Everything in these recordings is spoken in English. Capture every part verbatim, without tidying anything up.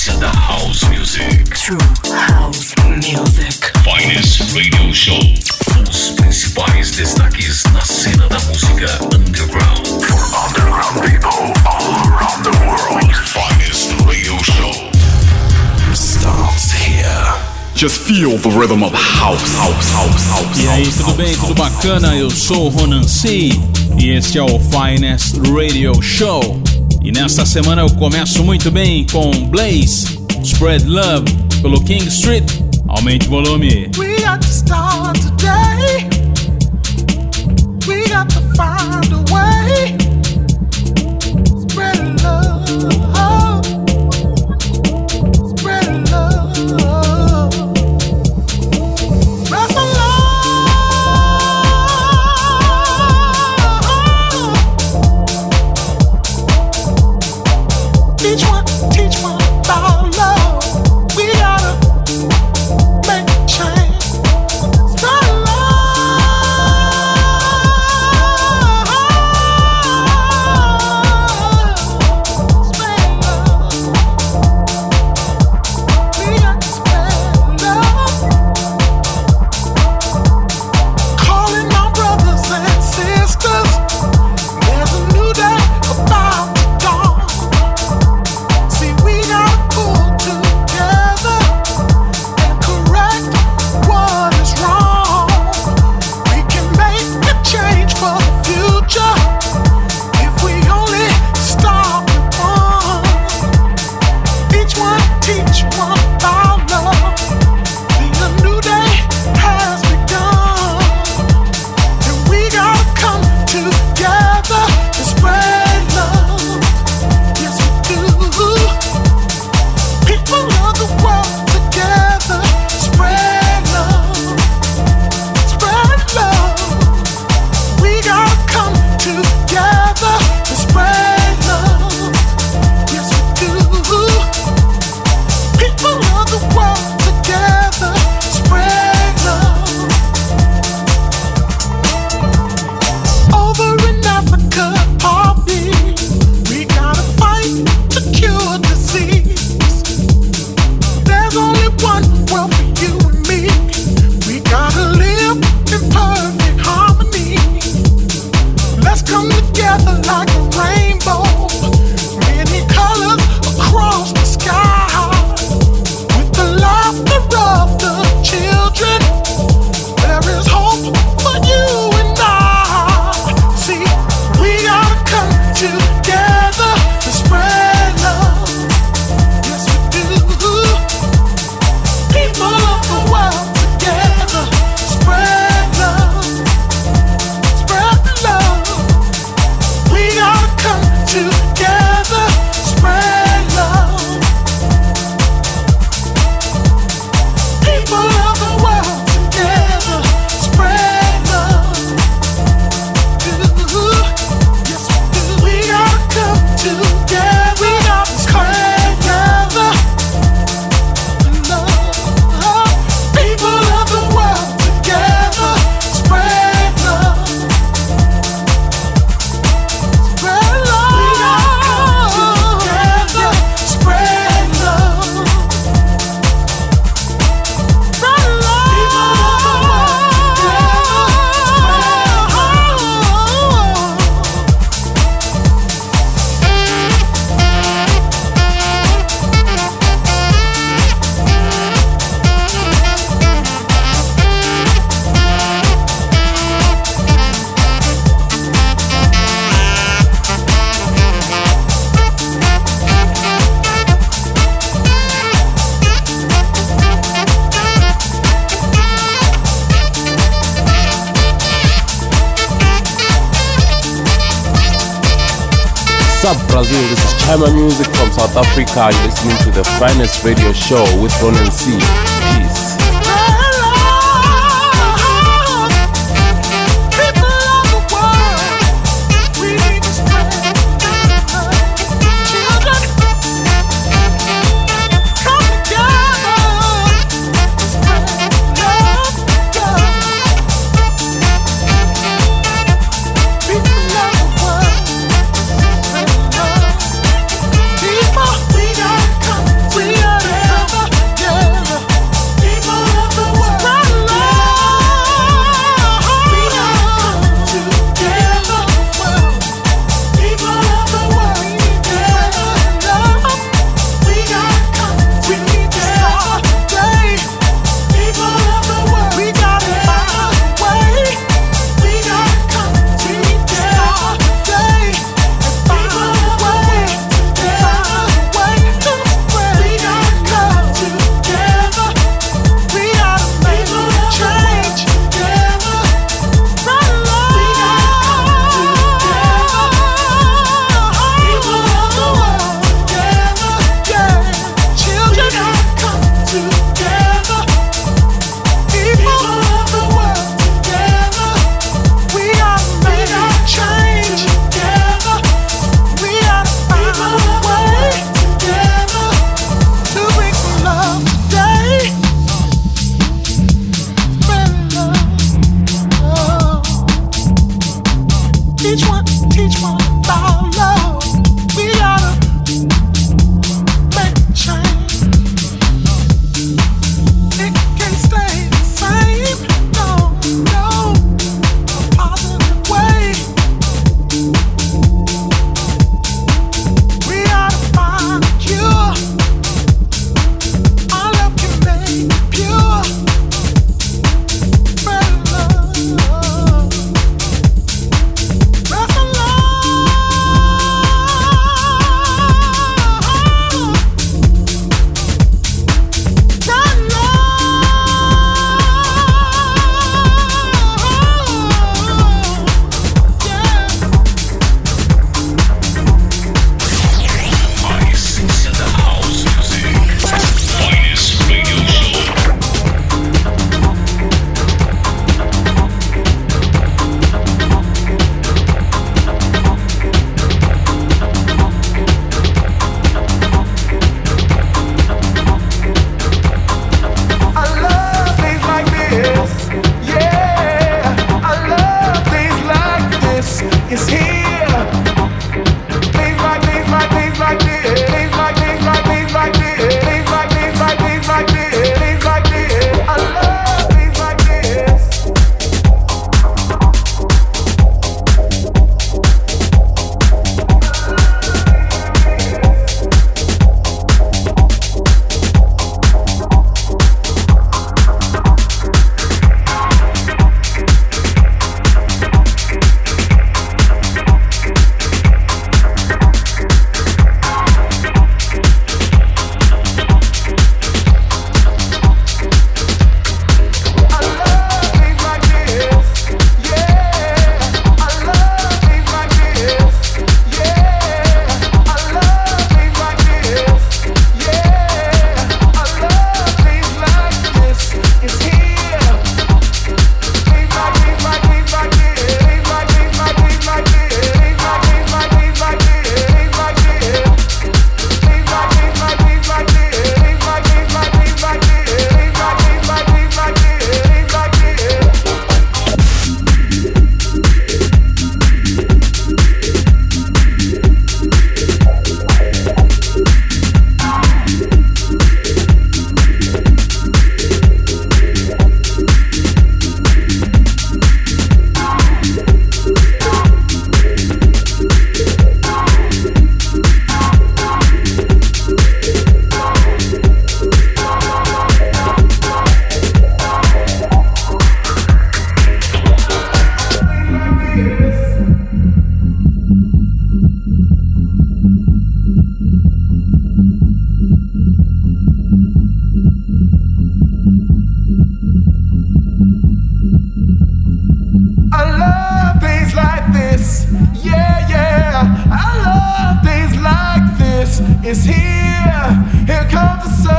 essência da House Music. True House Music. Finest Radio Show. Os principais destaques na cena da música underground. For underground people all around the world. Finest Radio Show starts here. Just feel the rhythm of house, house, house, house. E aí, tudo bem? Tudo bacana? Eu sou o Ronan C. E este é o Finest Radio Show. E nesta semana eu começo muito bem com Blaze, Spread Love, pelo King Street. Aumente o volume. We got to start today. We got to find a way. Spread love. Spread love. Rest alone. Each one, teach one about love. We gotta make a change. Spread love. Spread love. We got to spread love. Calling my brothers and sisters. There's a new day about to dawn. See, we gotta pull together and correct what is wrong. We can make a change for the future if we only start with one. Each one teach one about love. See, a new day has begun, and we gotta come together and spread love. Yes, we do. People of the world together, spread love, spread love. We gotta come together and spread love. Yes, we do. People of the world together, spread love. Over in Africa, poppy, we gotta fight to cure disease. There's only one world for you and me. We gotta live in perfect harmony. Let's come together like a rainbow, many colors across the sky. With the laughter of the children, there is hope for you and I. See, we gotta come together and spread love. Yes, we do. People of the world together, spread love, spread love. We gotta come together, spread love. People of the world together, spread love. Do. Yes, we do. We gotta come together. We gotta spread together. Love. People of the world together, spread love. Spread love. We gotta come together, spread love. Spread love. People of the world What's up, Brazil? This is Chama Music from South Africa. You're listening to the Finest Radio Show with Ronan C. Peace. we gotta come, we is here. Here comes the sun.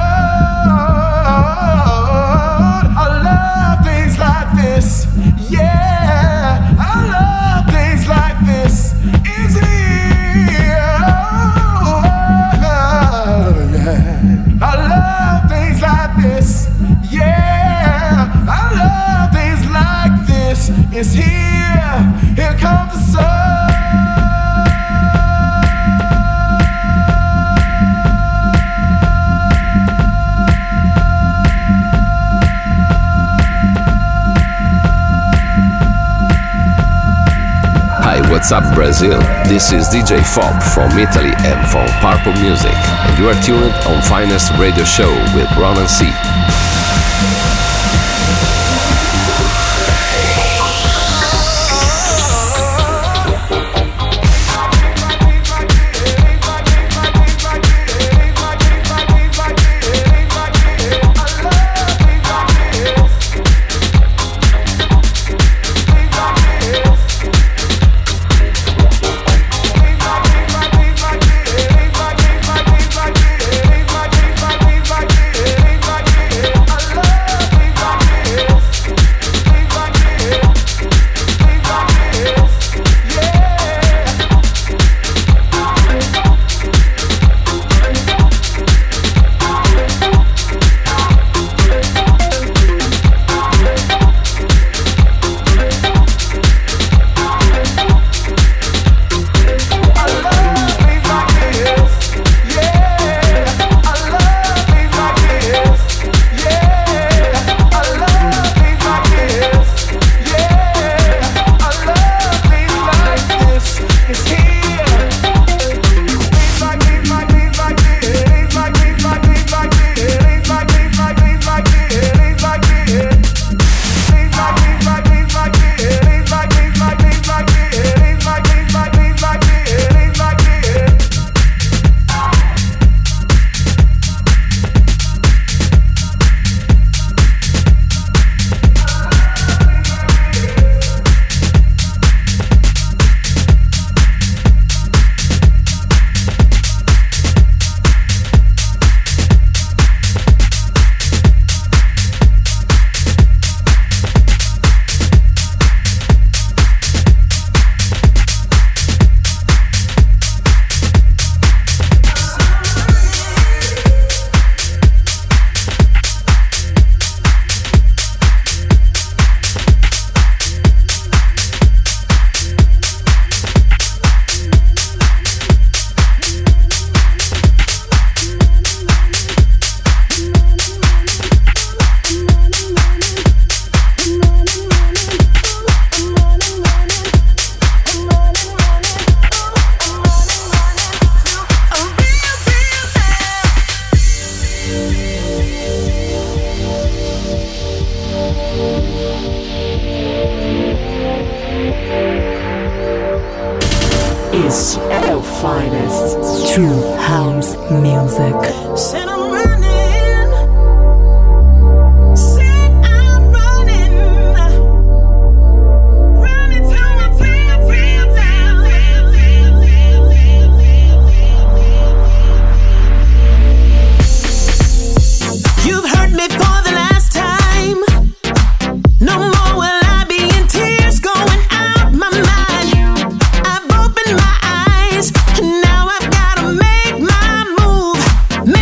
I love things like this. Yeah, I love things like this. Is here. Oh, yeah. I love things like this. Yeah, I love things like this. Is here. Here comes the sun. What's up, Brazil? This is D J Fob from Italy and from Purple Music, and you are tuned on Finest Radio Show with Ronan C. Este é o finest true house music. Make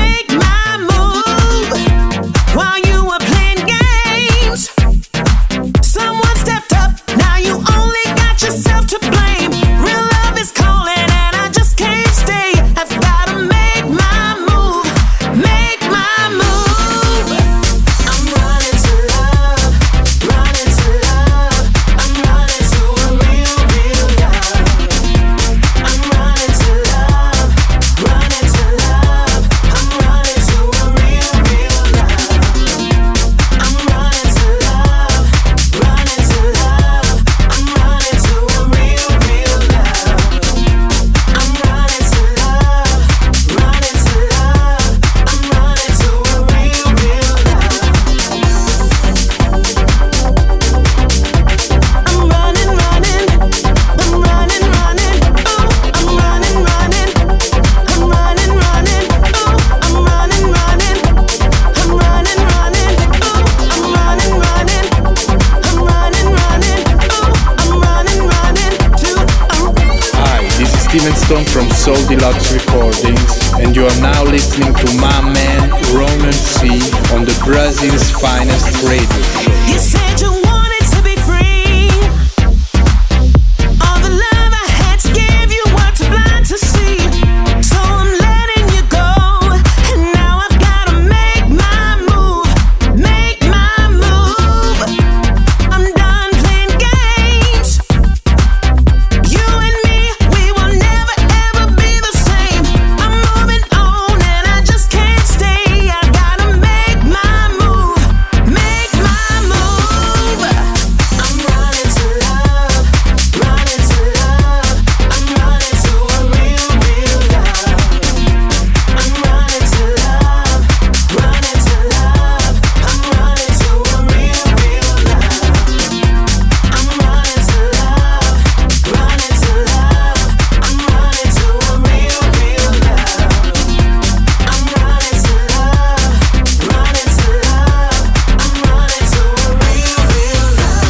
Stone from Soul Deluxe Recordings, and you are now listening to my man Ronan C on the Brazil's finest radio show. You said you wanted to be free. All the love I had to give you were too blind to see. So I'm letting you go, and now I've gotta make my move, make my move. I'm done playing games. You and me, we will never ever be the same. I'm moving on and I just can't stay. I gotta make my move, make my move. I'm running to love, running to love. I'm running to a real, real love. I'm running to love, running to love. I'm running to a real, real love. I'm running to love, running to love. I'm running to a real, real love. I'm running to love, running to love. I'm running to a real, real love.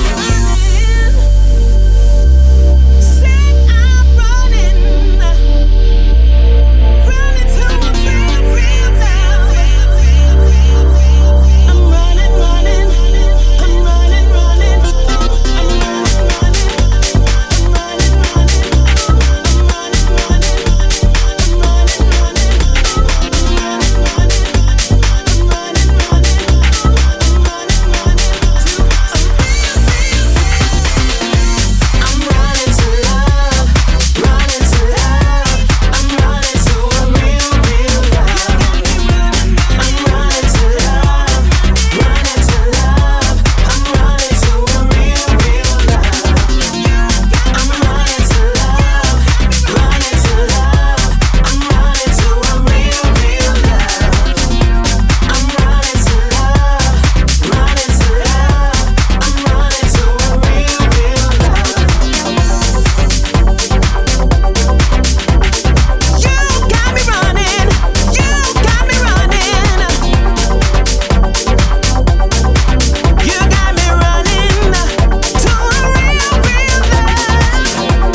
Say I'm running, running to a real, real love. I'm running, running, I'm running, running, I'm running, running, I'm running, running, I'm running, running, I'm running, running, I'm running, running, I'm running, running, I'm running, running to a I'm running to love, running to love. I'm running to a real, real love. I'm running to love, running to love. I'm running to a real, real love. I'm running to love, running to love. I'm running to a real, real love. I'm running to love, running to love. I'm running to a real, real love. You got me running, you got me running. You got me running to a real, real love.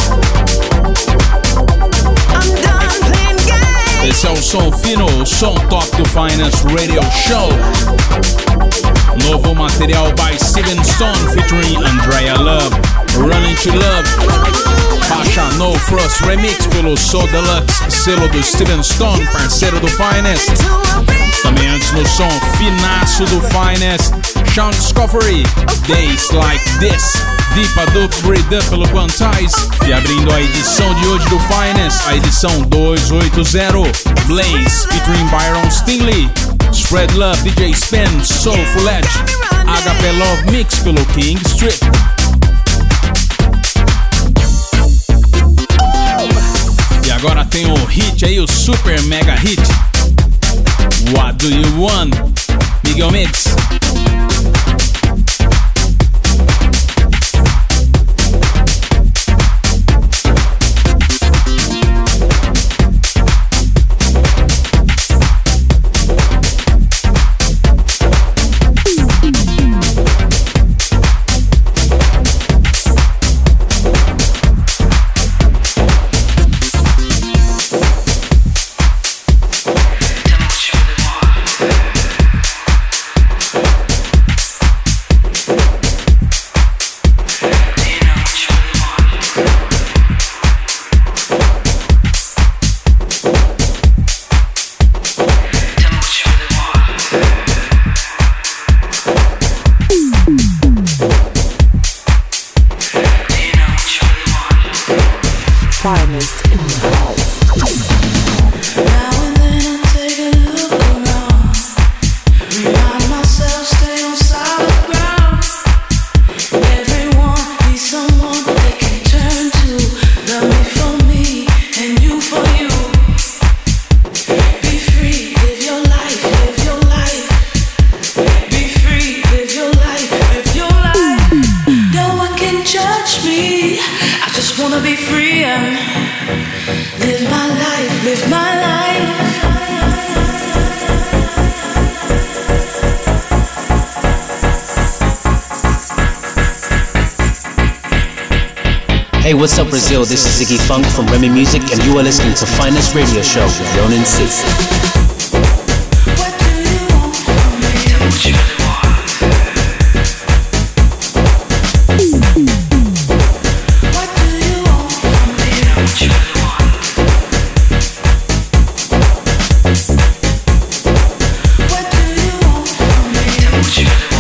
I'm done playing games. Esse é o som fino, o som top do Finest Radio Show. Novo material by Steven Stone featuring Andrea Love, Running to Love. Baixa No Frost Remix pelo Soul Deluxe, selo do Steven Stone, parceiro do Finest. Também antes no som finaço do Finest, Sean Discovery, Days Like This, Deepa Dup Breed pelo Quantize. E abrindo a edição de hoje do Finest, a edição duzentos e oitenta, Blaze featuring Byron Stingley, Spread Love, D J Spen, Soulful Edge, H P Love Mix pelo King Strip. E agora tem o hit aí, o super mega hit, What Do You Want? Miguel Mix. Finest in the house. Now and then I take a look around, remind myself stay on solid ground. Everyone needs someone they can turn to. Love me for me and you for you. Be free, live your life, live your life. Be free, live your life, live your life. No one can judge me. I just wanna be free and live my life, live my life. Hey, what's up, Brazil? This is Ziggy Funk from Remy Music, and you are listening to Finest Radio Show with Ronan C. What do you want from me? What you want? What do you want from me? What you want? What do you want from me? What you want?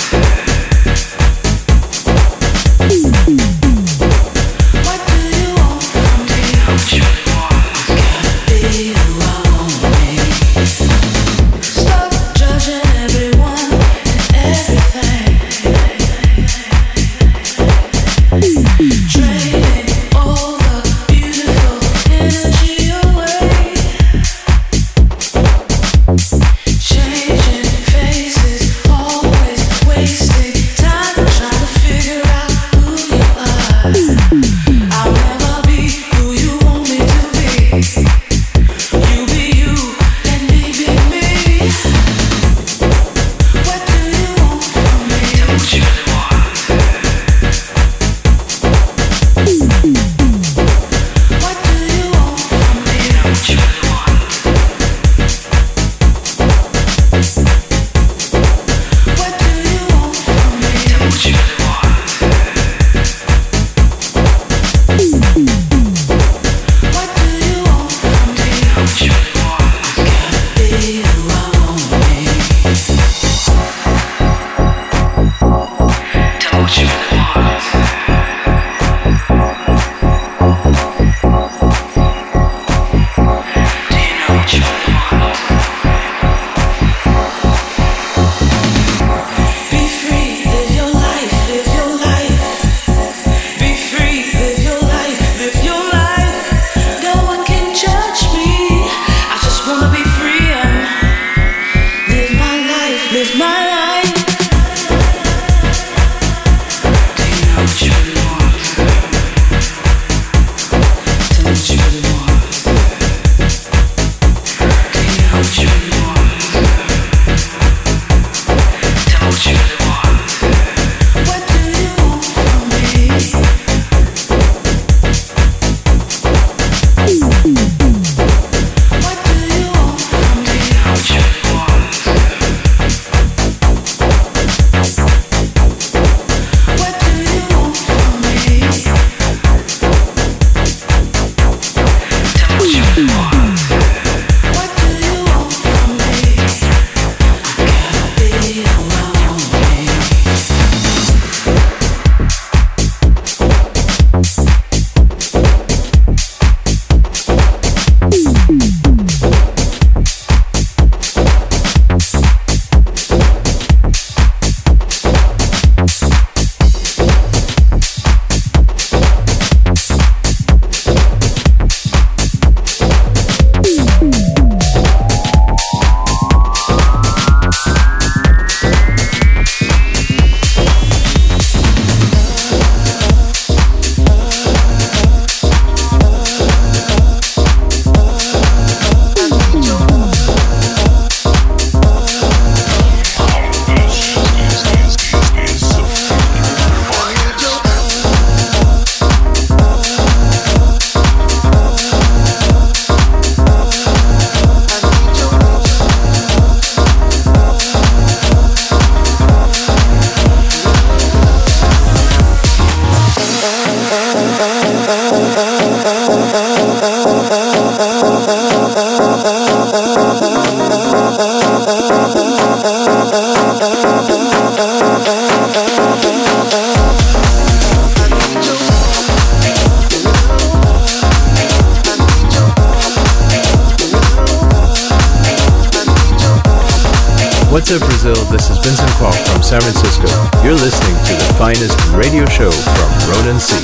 What's up, Brazil? This is Vincent Kwok from San Francisco. You're listening to the finest radio show from Ronan C.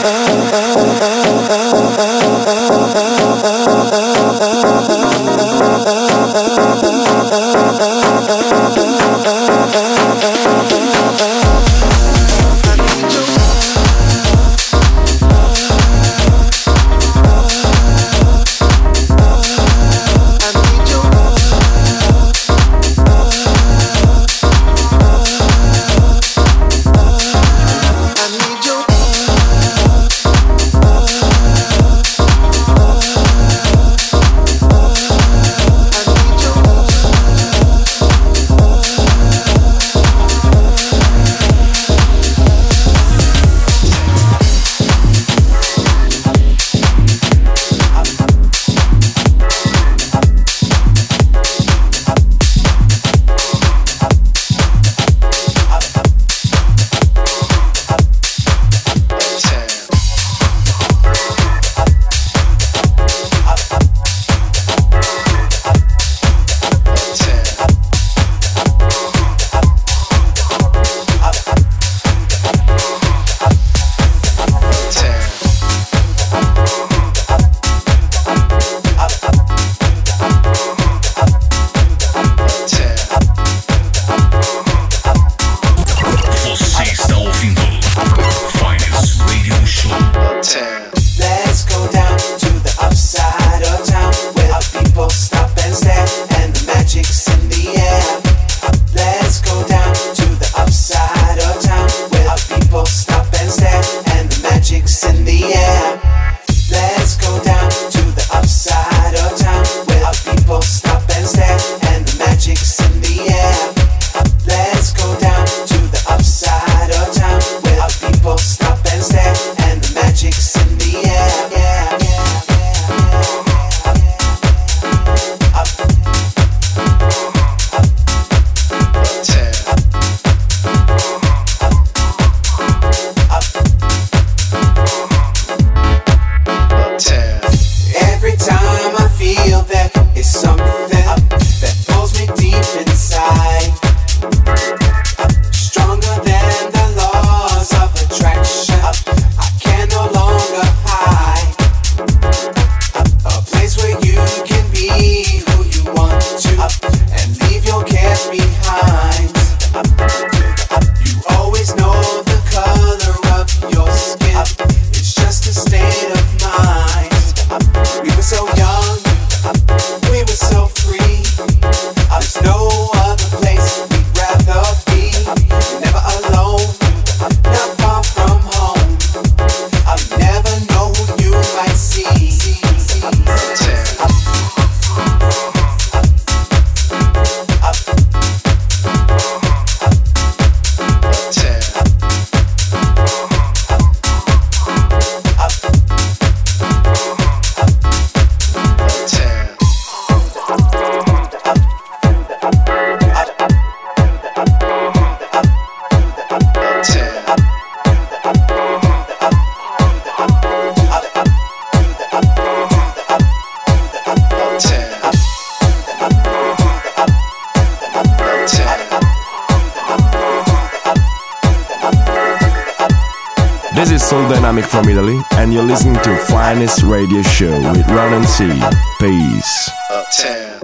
This is Soul Dynamic from Italy, and you're listening to Finest Radio Show with Ronan C. Peace. Uptown.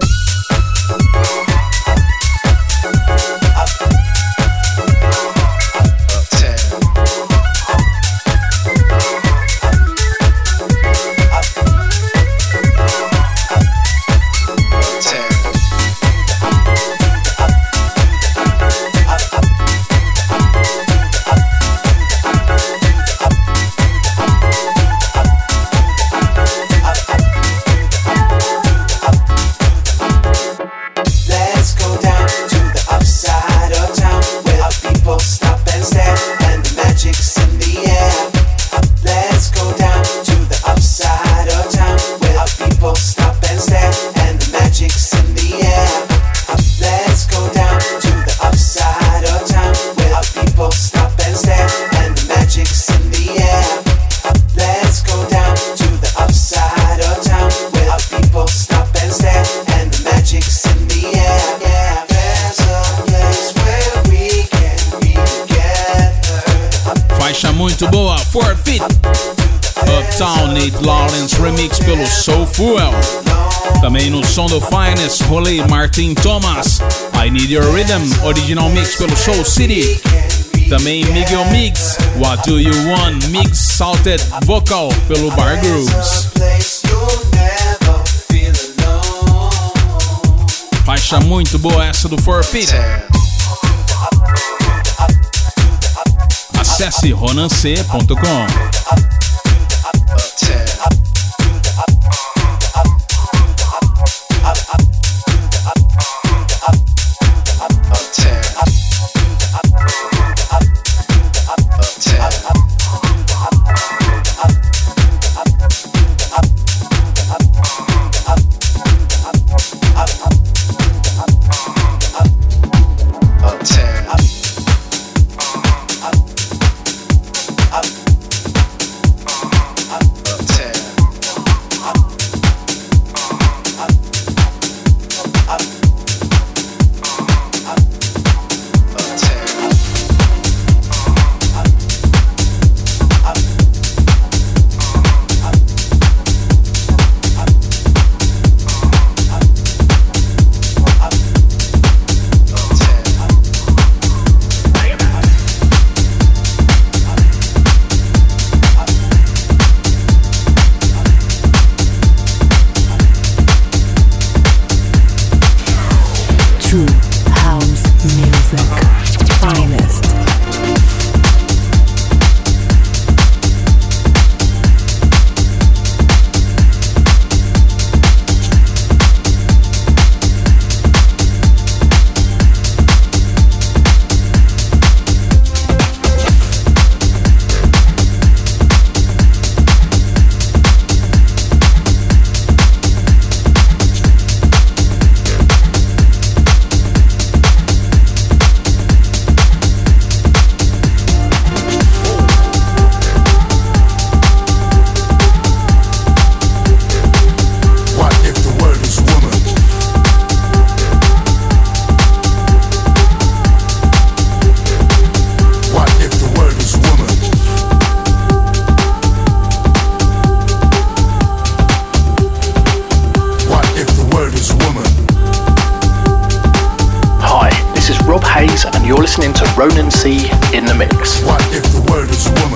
muito boa, Forfeit. Uptown, Nate Lawrence remix pelo Soul Fuel. Também no som do Finest, rolei Martin Thomas, I Need Your Rhythm, original mix pelo Soul City. Também Miguel Mix, What Do You Want, mix salted vocal pelo Bar Grooves. Faixa muito boa essa do Forfeit. Acesse ronan c ponto com. Ronan C in the mix. What if the word is woman?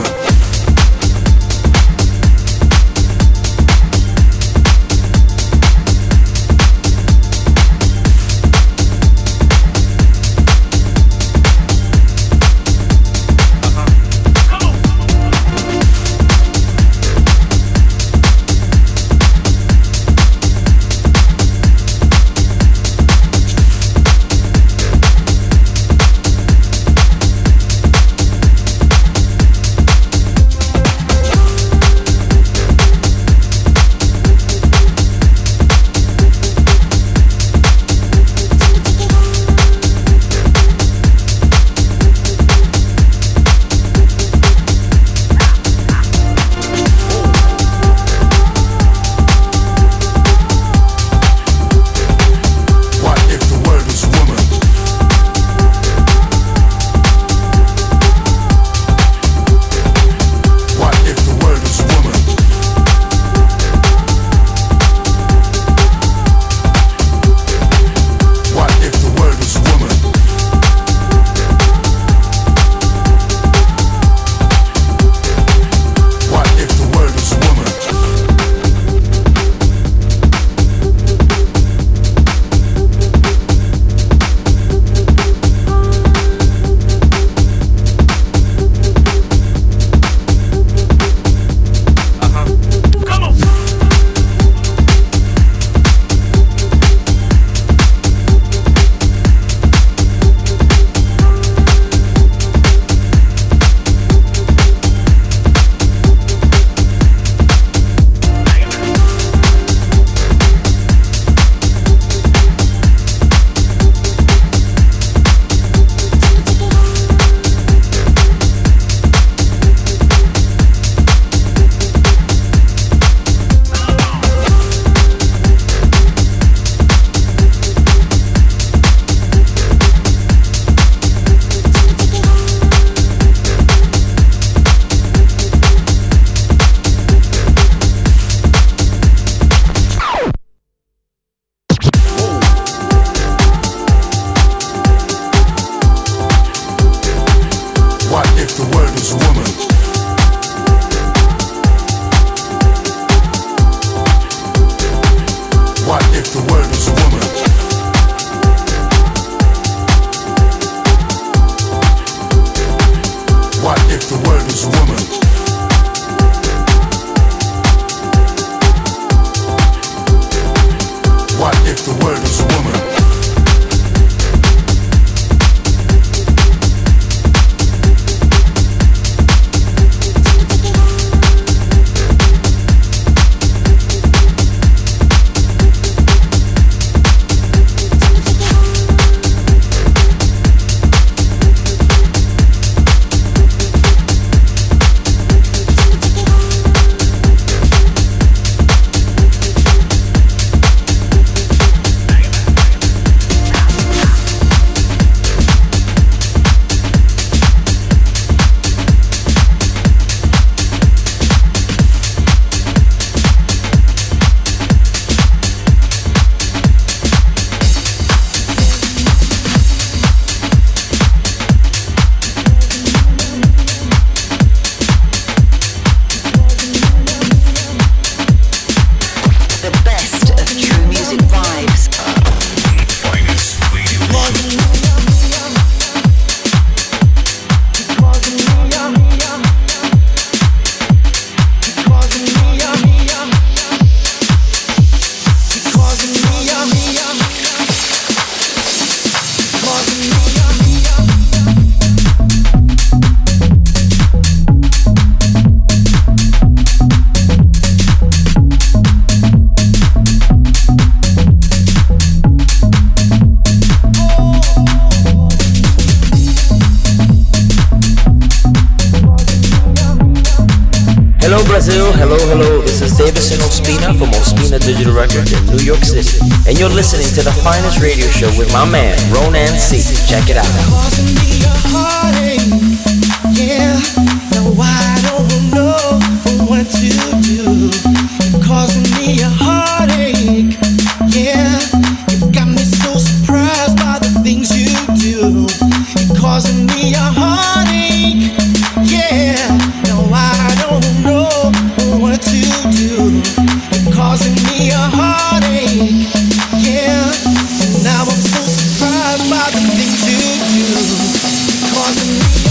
Hello Brazil, hello, hello. This is Davison Ospina from Ospina Digital Records in New York City. And you're listening to the finest radio show with my man, Ronan C. Check it out. Causing me a heartache, yeah. Now I don't know what to do. You're causing me a heartache, yeah. You've got me so surprised by the things you do. You're causing me a heartache, yeah. Now I don't know what to do. You're causing me a heartache, yeah. And now I'm so surprised by the things you do. You're causing me a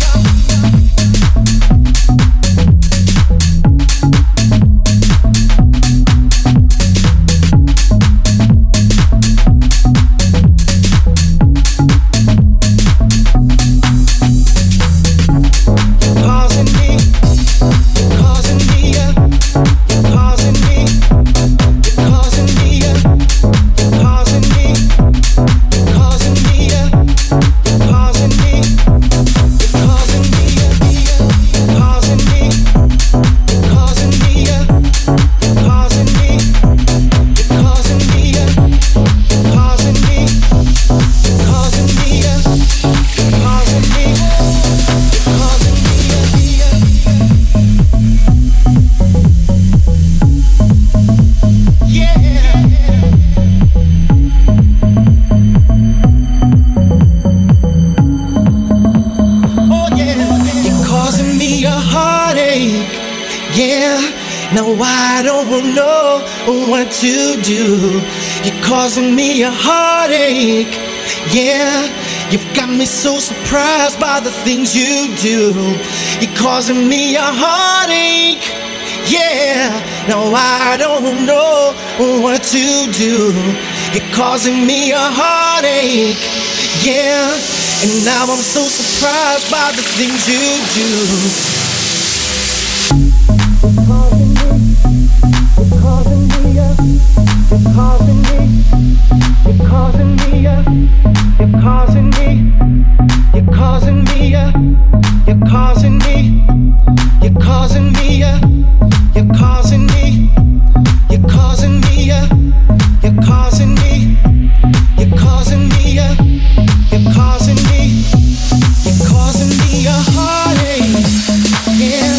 to do. You're causing me a heartache, yeah. You've got me so surprised by the things you do. You're causing me a heartache, yeah. Now I don't know what to do. You're causing me a heartache, yeah. And now I'm so surprised by the things you do. You're causing me, you're causing me, you're causing me, you're causing me, you're causing me, you're causing me, you're causing me, you're causing me, you're causing me, you're causing me, you're causing me, you're causing me, you're causing me a heartache, yeah.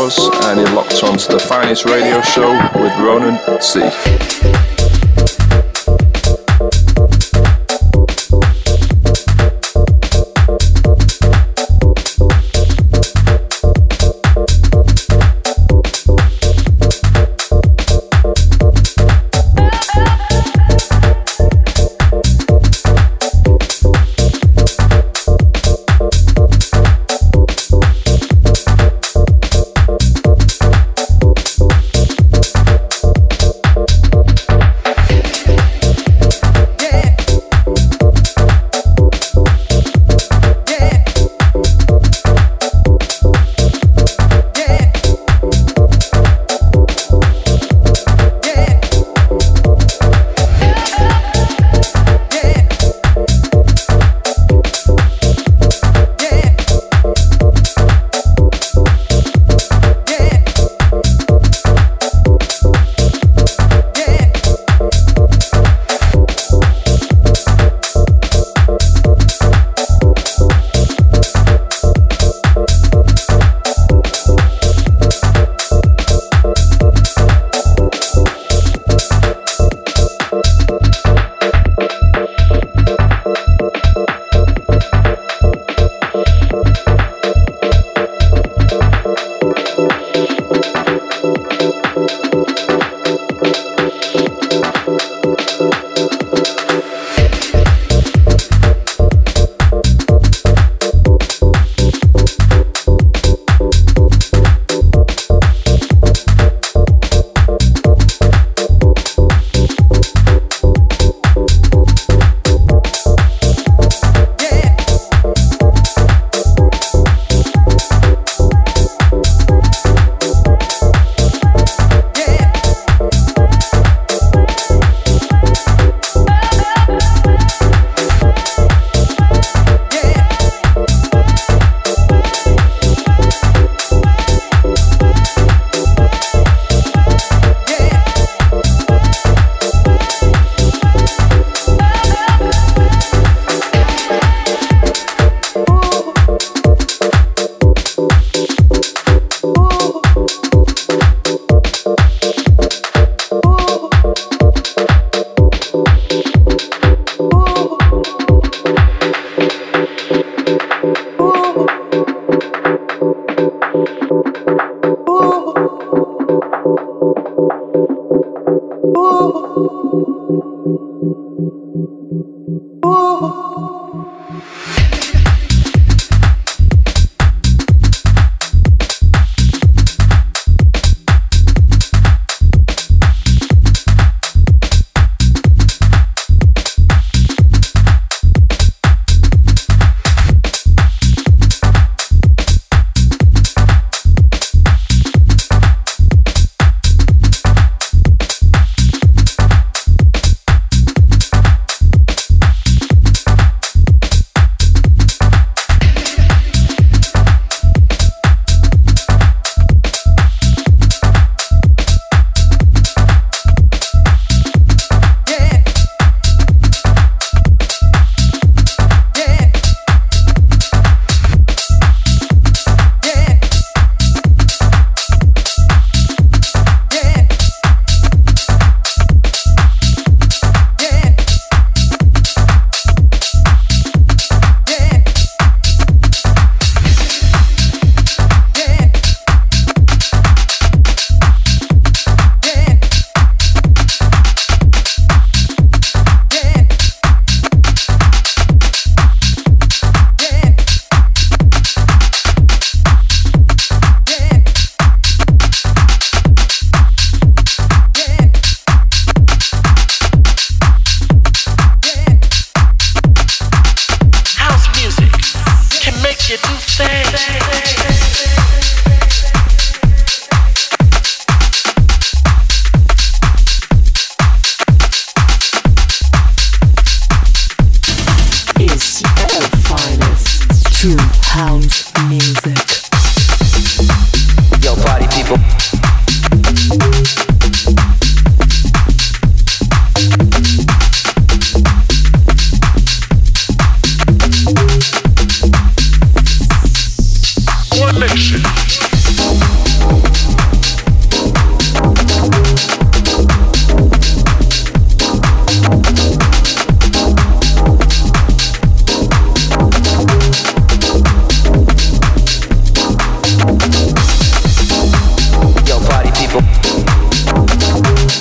hours, and you're locked onto the Finest Radio Show with Ronan C.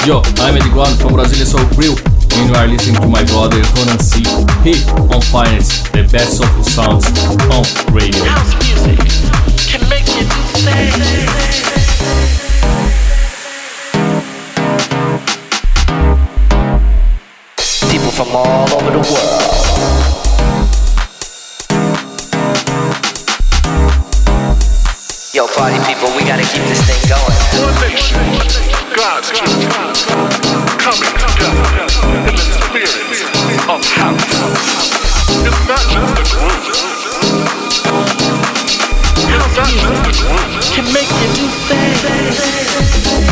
Yo, I'm Eddie Guan from Brasilia Soul Crew, and you are listening to my brother Ronan C. Here on Finest, the best soulful sounds on radio. House music can make you do things. People from all over the world. Yo, party people, we gotta keep this thing going. One nation, God's children, coming together in the spirit of house. It's not just a groove. It's not just a groove. Can make you do things.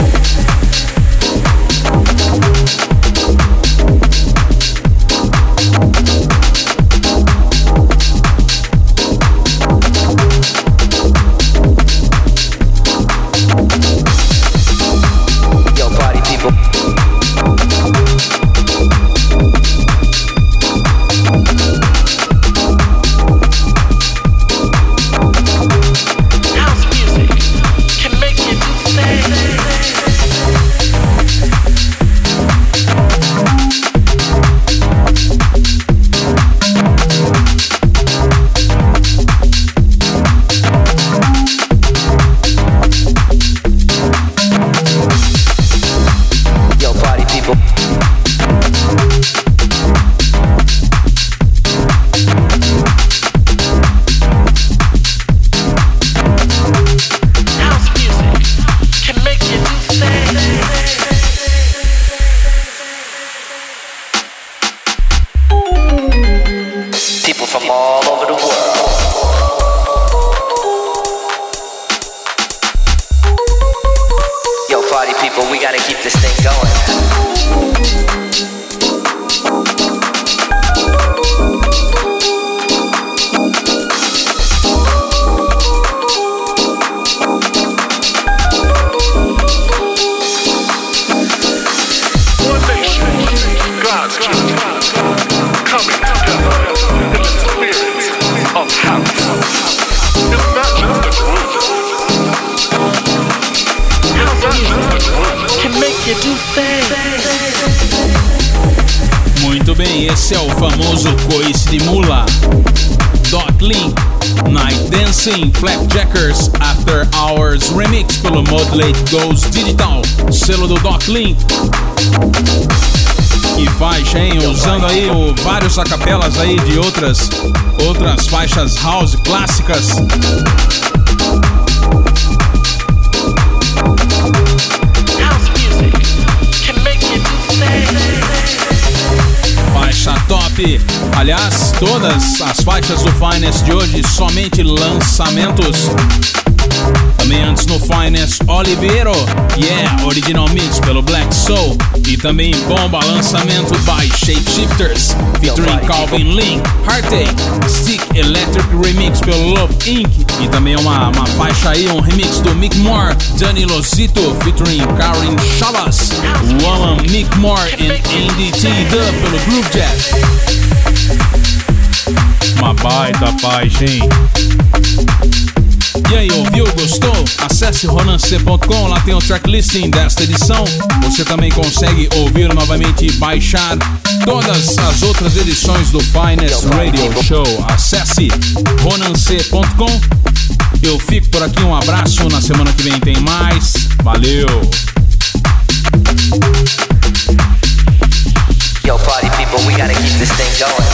Muito bem, esse é o famoso coice de mula. Doc Link, Night Dancing, Flapjackers, After Hours Remix pelo Modulate Goes Digital, selo do Doc Link. Que faixa, hein? Usando aí o, vários acapelas aí de outras, outras faixas house clássicas. Faixa top. Aliás, todas as faixas do Finest de hoje somente lançamentos. Também antes no Finest, Oliveiro, yeah, original mix pelo Black Soul. E também bomba lançamento by Shapeshifters, featuring Calvin Link, Heartache, Stick Electric Remix pelo Love Incorporated. E também uma, uma faixa aí, um remix do Mick Moore, Danny Lozito, featuring Karen Chavas, Woman, Mick Moore e N D T Dub pelo Groove Jet. Uma baita faixa, hein? E aí, ouviu? Gostou? Acesse ronan c ponto com, lá tem o tracklisting desta edição. Você também consegue ouvir novamente e baixar todas as outras edições do Finest Radio Show. Acesse ronan c ponto com. Eu fico por aqui, um abraço, na semana que vem tem mais. Valeu! Yo, party people, we gotta keep this thing going.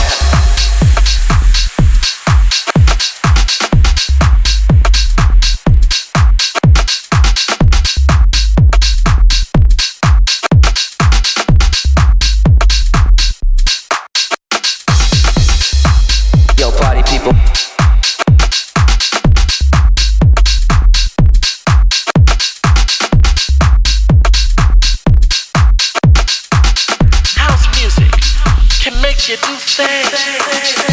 You do things.